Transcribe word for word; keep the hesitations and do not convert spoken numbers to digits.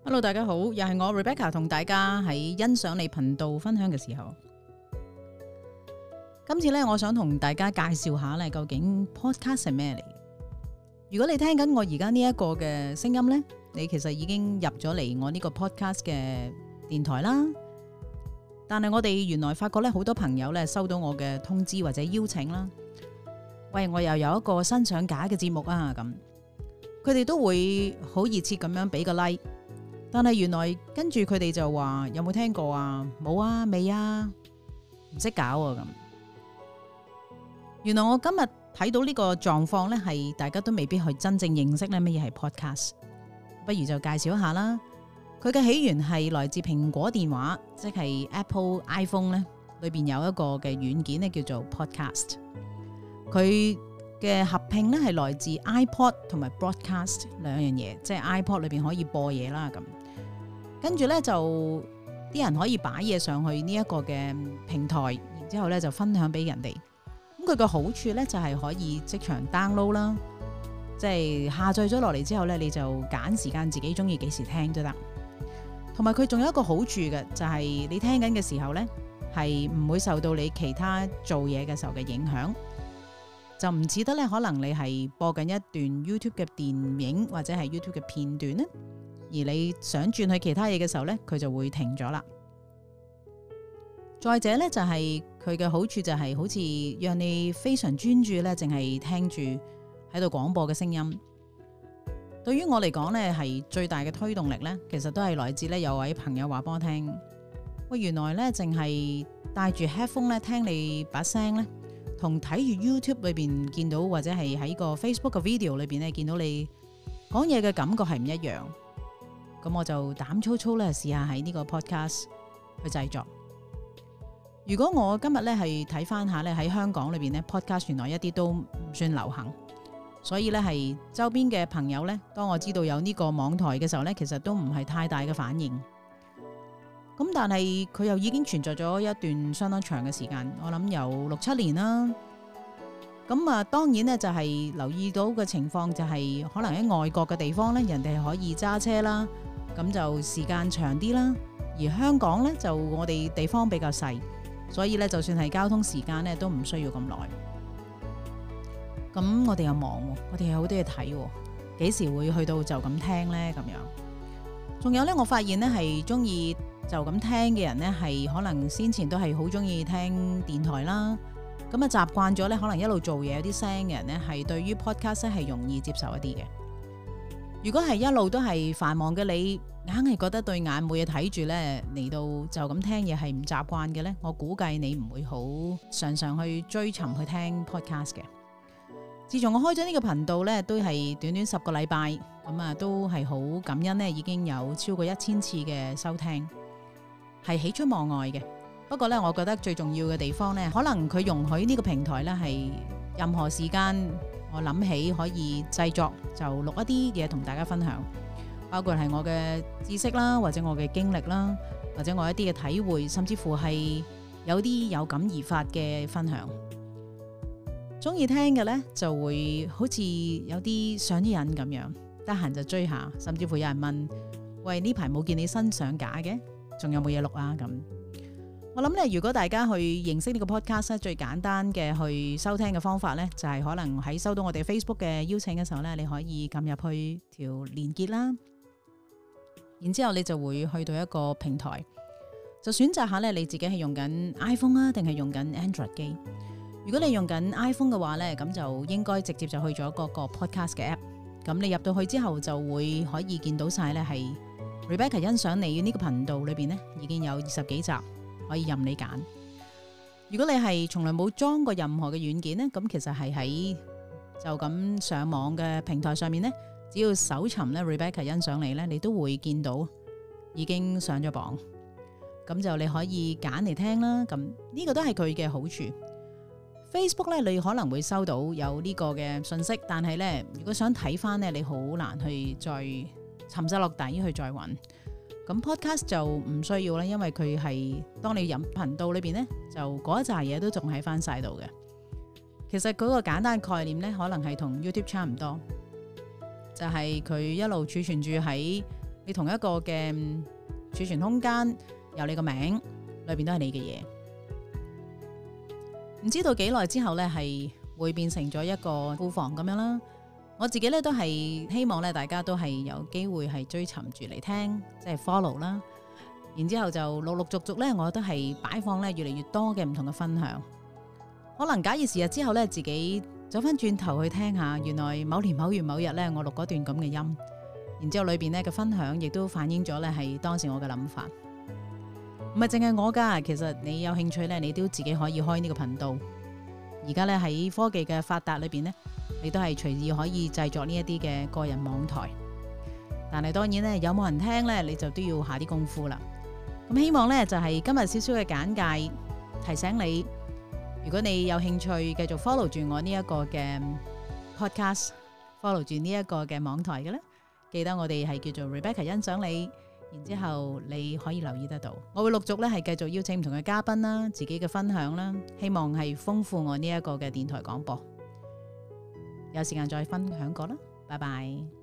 Hello， 大家好，又係我 Rebecca 同大家喺欣賞你頻道分享嘅時候，今次咧，我想同大家介紹下咧，究竟 podcast 係咩嚟？如果你聽緊我而家呢一個嘅聲音咧，你其實已經入咗嚟我呢個 podcast 嘅電台啦。但係我哋原來發覺咧，好多朋友咧收到我嘅通知或者邀請啦，喂，我又有一個新上架嘅節目啊，咁佢哋都會好熱切咁樣俾個 like。但係原來跟住佢哋就話有冇聽過啊？冇啊，未啊，唔識搞啊咁。原來我今日睇到呢個狀況呢，係大家都未必去真正認識呢乜嘢係 podcast。不如就介紹一下啦。佢嘅起源係來自蘋果電話，即係 Apple iPhone 呢裏邊有一個嘅軟件呢叫做 podcast。佢嘅合併呢係來自 iPod 同埋 broadcast 兩樣嘢，即係 iPod 裏邊可以播嘢啦咁。跟住咧就啲人可以擺嘢上去呢一個嘅平台，然之後咧就分享俾人哋。咁佢嘅好處咧就係可以即場 download 啦，即係下載咗落嚟之後咧，你就揀時間自己中意幾時聽都得。同埋佢仲有一個好處嘅，就係你聽緊嘅時候咧，係唔會受到你其他做嘢嘅時候嘅影響，就唔似得咧可能你係播緊一段 YouTube 嘅電影或者係 YouTube 嘅片段咧。而你想轉去其他嘢嘅時候呢，佢就會停咗啦。再者呢，就係佢嘅好處就係好似讓你非常專注呢，淨係聽住喺度廣播嘅聲音。對於我嚟講呢，係最大嘅推動力呢，其實都係來自呢有位朋友話俾我聽，喂，原來呢，淨係戴住 headphone 呢聽你把聲呢，同睇住 YouTube 裏邊見到或者係喺個 Facebook 嘅 video 裏邊呢見到你講嘢嘅感覺係唔一樣。咁我就膽粗粗咧試下喺呢個 podcast 去製作。如果我今日咧係睇翻下咧喺香港裏邊咧 podcast 原來一啲都唔算流行，所以咧係周邊嘅朋友咧，當我知道有呢個網台嘅時候咧，其實都唔係太大嘅反應。咁但係佢又已經存在咗一段相當長嘅時間，我諗有六七年啦。咁啊，當然咧就係留意到嘅情況就係可能喺外國嘅地方咧，人哋係可以揸車啦。咁就時間長啲啦，而香港呢，就我哋地方比較細，所以呢，就算係交通時間呢，都唔需要咁耐。咁我哋又忙，我哋有好多嘢睇，幾時會去到就咁聽呢？咁樣，仲有呢，我發現呢係中意就咁聽嘅人呢，係可能先前都係好中意聽電台啦，咁啊習慣咗呢，可能一路做嘢有啲聲嘅人呢，係對於 podcast 係容易接受一啲嘅。如果係一路都係繁忙嘅你，硬係覺得對眼冇嘢睇住呢，嚟到就咁聽嘢係唔習慣嘅呢，我估計你唔會好常常去追尋去聽 podcast 嘅。自從我開咗呢個頻道呢，都係短短十個禮拜，咁啊都係好感恩呢，已經有超過一千次嘅收聽，係喜出望外嘅。不過呢，我覺得最重要嘅地方呢，可能佢容許呢個平台呢係任何時間。我諗起可以製作就錄一啲嘢同大家分享，包括係我嘅知識啦，或者我嘅經歷啦，或者我一啲嘅體會，甚至乎係有啲有感而發嘅分享。中意聽嘅呢，就會好似有啲上癮咁樣，得閒就追下，甚至乎有人問：喂，呢排冇見你新上架嘅，仲有冇嘢錄啊？咁。我諗咧，如果大家去認識呢個 podcast 咧，最簡單嘅去收聽嘅方法咧，就係可能喺收到我哋 Facebook 嘅邀請嘅時候咧，你可以撳入去條連結啦，然之後你就會去到一個平台，就選擇下咧你自己係用緊 iPhone 啊，定係用緊 Android 機。如果你用緊 iPhone 嘅話咧，咁就應該直接就去咗嗰個 podcast 嘅 app。咁你入到去之後，就會可以見到晒咧係 Rebecca 欣賞你呢個頻道裏邊咧，已經有二十幾集。可以任你揀。如果你係從來冇裝過任何嘅軟件呢，咁其實係喺就咁上網嘅平台上面呢，只要搜尋咧 Rebecca 欣賞你呢，你都會見到已經上咗榜。咁就你可以揀嚟聽啦。咁呢個都係佢嘅好處。Facebook 呢，你可能會收到有呢個嘅信息，但係呢，如果想睇翻呢，你好難去再沉晒落底去再揾。咁 podcast 就唔需要啦，因為佢係當你入頻道裏邊呢，就嗰一紮嘢都仲喺翻晒度嘅。其實嗰個簡單概念呢，可能係同 YouTube 差唔多，就係、是、佢一路儲存住喺你同一個嘅儲存空間有你個名，裏邊都係你嘅嘢。唔知道幾耐之後呢，係會變成咗一個庫房咁樣啦。我自己呢，都係希望咧，大家都係有機會係追尋住嚟聽，即係 follow 啦。然之後就陸陸續續呢，我都係擺放咧越嚟越多嘅唔同嘅分享。可能假以時日之後呢，自己走翻轉頭去聽下，原來某年某月某日呢，我錄嗰段咁嘅音，然之後裏邊呢嘅分享亦都反映咗呢係當時我嘅諗法。唔係淨係我噶，其實你有興趣呢，你都自己可以開呢個頻道。而家呢，喺科技嘅發達裏邊呢，你都係隨意可以製作呢一啲嘅個人網台。但係當然呢，有冇人聽呢，你就都要下啲功夫啦。咁希望呢，就係今日少少嘅簡介，提醒你，如果你有興趣繼續 follow 住我呢一個嘅 podcast，follow 住呢一個嘅網台嘅呢，記得我哋係叫做 Rebecca 欣賞你。然之後你可以留意得到，我會陸續咧係繼續邀請唔同嘅嘉賓啦，自己嘅分享啦，希望係豐富我呢一個嘅電台廣播。有時間再分享過啦，拜拜。